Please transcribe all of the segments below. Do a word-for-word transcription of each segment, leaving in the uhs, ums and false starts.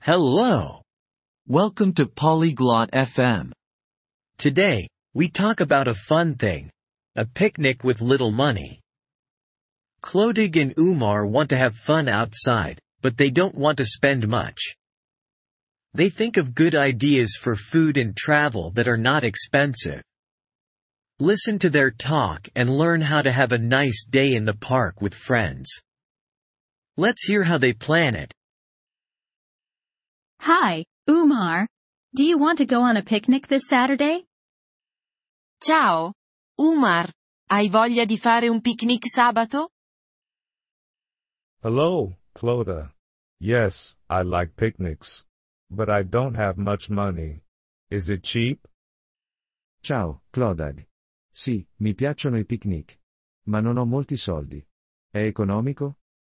Hello. Welcome to Polyglot F M. Today, we talk about a fun thing. A picnic with little money. Clodig and Umar want to have fun outside, but they don't want to spend much. They think of good ideas for food and travel that are not expensive. Listen to their talk and learn how to have a nice day in the park with friends. Let's hear how they plan it. Hi, Umar. Do you want to go on a picnic this Saturday? Ciao, Umar. Hai voglia di fare un picnic sabato? Hello, Cloda. Yes, I like picnics. But I don't have much money. Is it cheap? Ciao, Clodag. Sì, mi piacciono i picnic. Ma non ho molti soldi. È economico?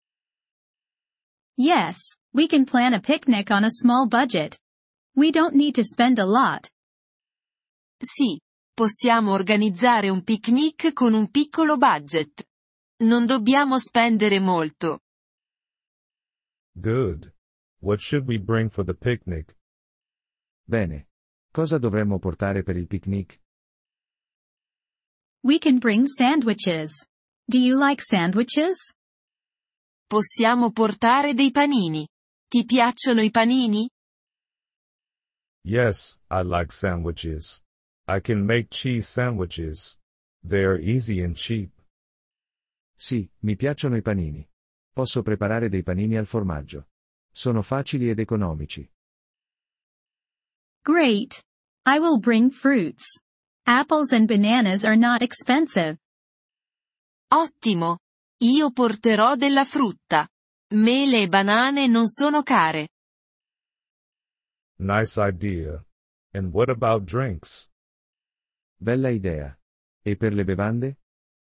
Yes, we can plan a picnic on a small budget. We don't need to spend a lot. Sì, possiamo organizzare un picnic con un piccolo budget. Non dobbiamo spendere molto. Good. What should we bring for the picnic? Bene. Cosa dovremmo portare per il picnic? We can bring sandwiches. Do you like sandwiches? Possiamo portare dei panini. Ti piacciono i panini? Yes, I like sandwiches. I can make cheese sandwiches. They are easy and cheap. Sì, mi piacciono i panini. Posso preparare dei panini al formaggio. Sono facili ed economici. Great. I will bring fruits. Apples and bananas are not expensive. Ottimo. Io porterò della frutta. Mele e banane non sono care. Nice idea. And what about drinks? Bella idea. E per le bevande?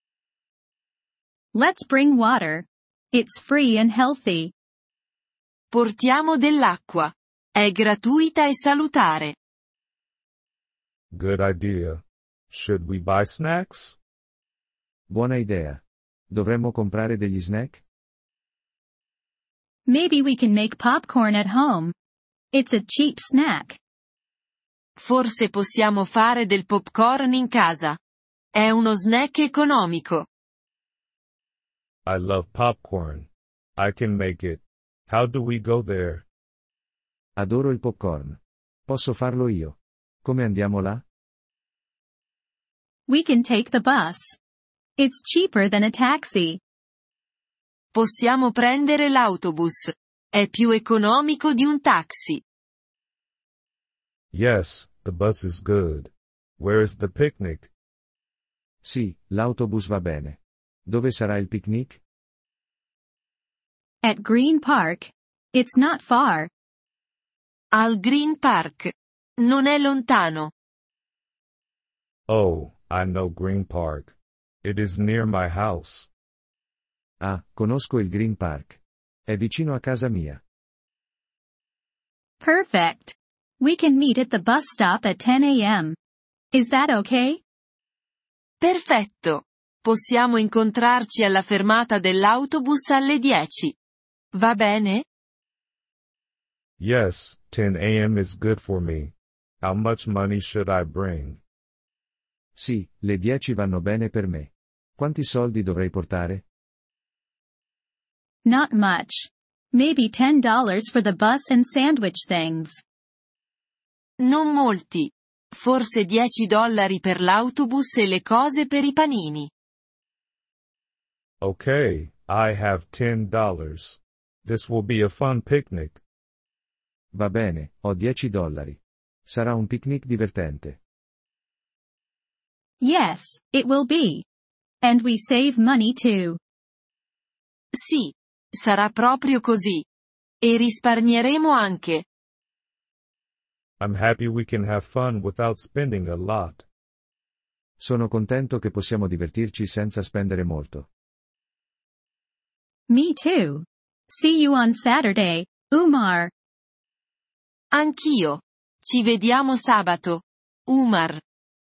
Let's bring water. It's free and healthy. Portiamo dell'acqua. È gratuita e salutare. Good idea. Should we buy snacks? Buona idea. Dovremmo comprare degli snack? Maybe we can make popcorn at home. It's a cheap snack. Forse possiamo fare del popcorn in casa. È uno snack economico. I love popcorn. I can make it. How do we go there? Adoro il popcorn. Posso farlo io. Come andiamo là? We can take the bus. It's cheaper than a taxi. Possiamo prendere l'autobus. È più economico di un taxi. Yes, the bus is good. Where is the picnic? Sì, l'autobus va bene. Dove sarà il picnic? At Green Park. It's not far. Al Green Park. Non è lontano. Oh, I know Green Park. It is near my house. Ah, conosco il Green Park. È vicino a casa mia. Perfect. We can meet at the bus stop at ten a m. Is that okay? Perfetto. Possiamo incontrarci alla fermata dell'autobus alle dieci. Va bene? Yes, ten a m is good for me. How much money should I bring? Sì, le dieci vanno bene per me. Quanti soldi dovrei portare? Not much. Maybe ten dollars for the bus and sandwich things. Non molti. Forse dieci dollari per l'autobus e le cose per i panini. Okay, I have ten dollars. This will be a fun picnic. Va bene, ho dieci dollari. Sarà un picnic divertente. Yes, it will be. And we save money too. Sì, sarà proprio così. E risparmieremo anche. I'm happy we can have fun without spending a lot. Sono contento che possiamo divertirci senza spendere molto. Me too. See you on Saturday, Umar. Anch'io. Ci vediamo sabato. Umar.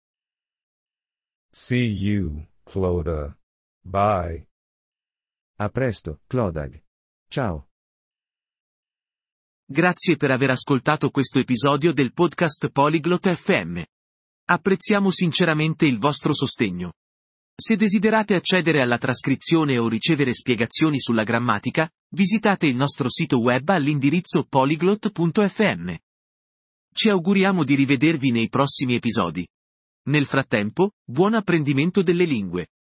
See you, Cloda. Bye. A presto, Clodag. Ciao. Grazie per aver ascoltato questo episodio del podcast Polyglot F M. Apprezziamo sinceramente il vostro sostegno. Se desiderate accedere alla trascrizione o ricevere spiegazioni sulla grammatica, visitate il nostro sito web all'indirizzo polyglot punto f m. Ci auguriamo di rivedervi nei prossimi episodi. Nel frattempo, buon apprendimento delle lingue.